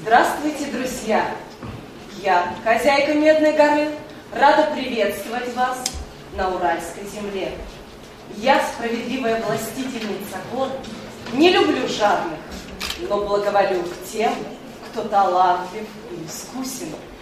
Здравствуйте, друзья! Я, хозяйка Медной горы, рада приветствовать вас на Уральской земле. Я, справедливая властительница гор, не люблю жадных, но благоволю к тем, кто талантлив и искусен.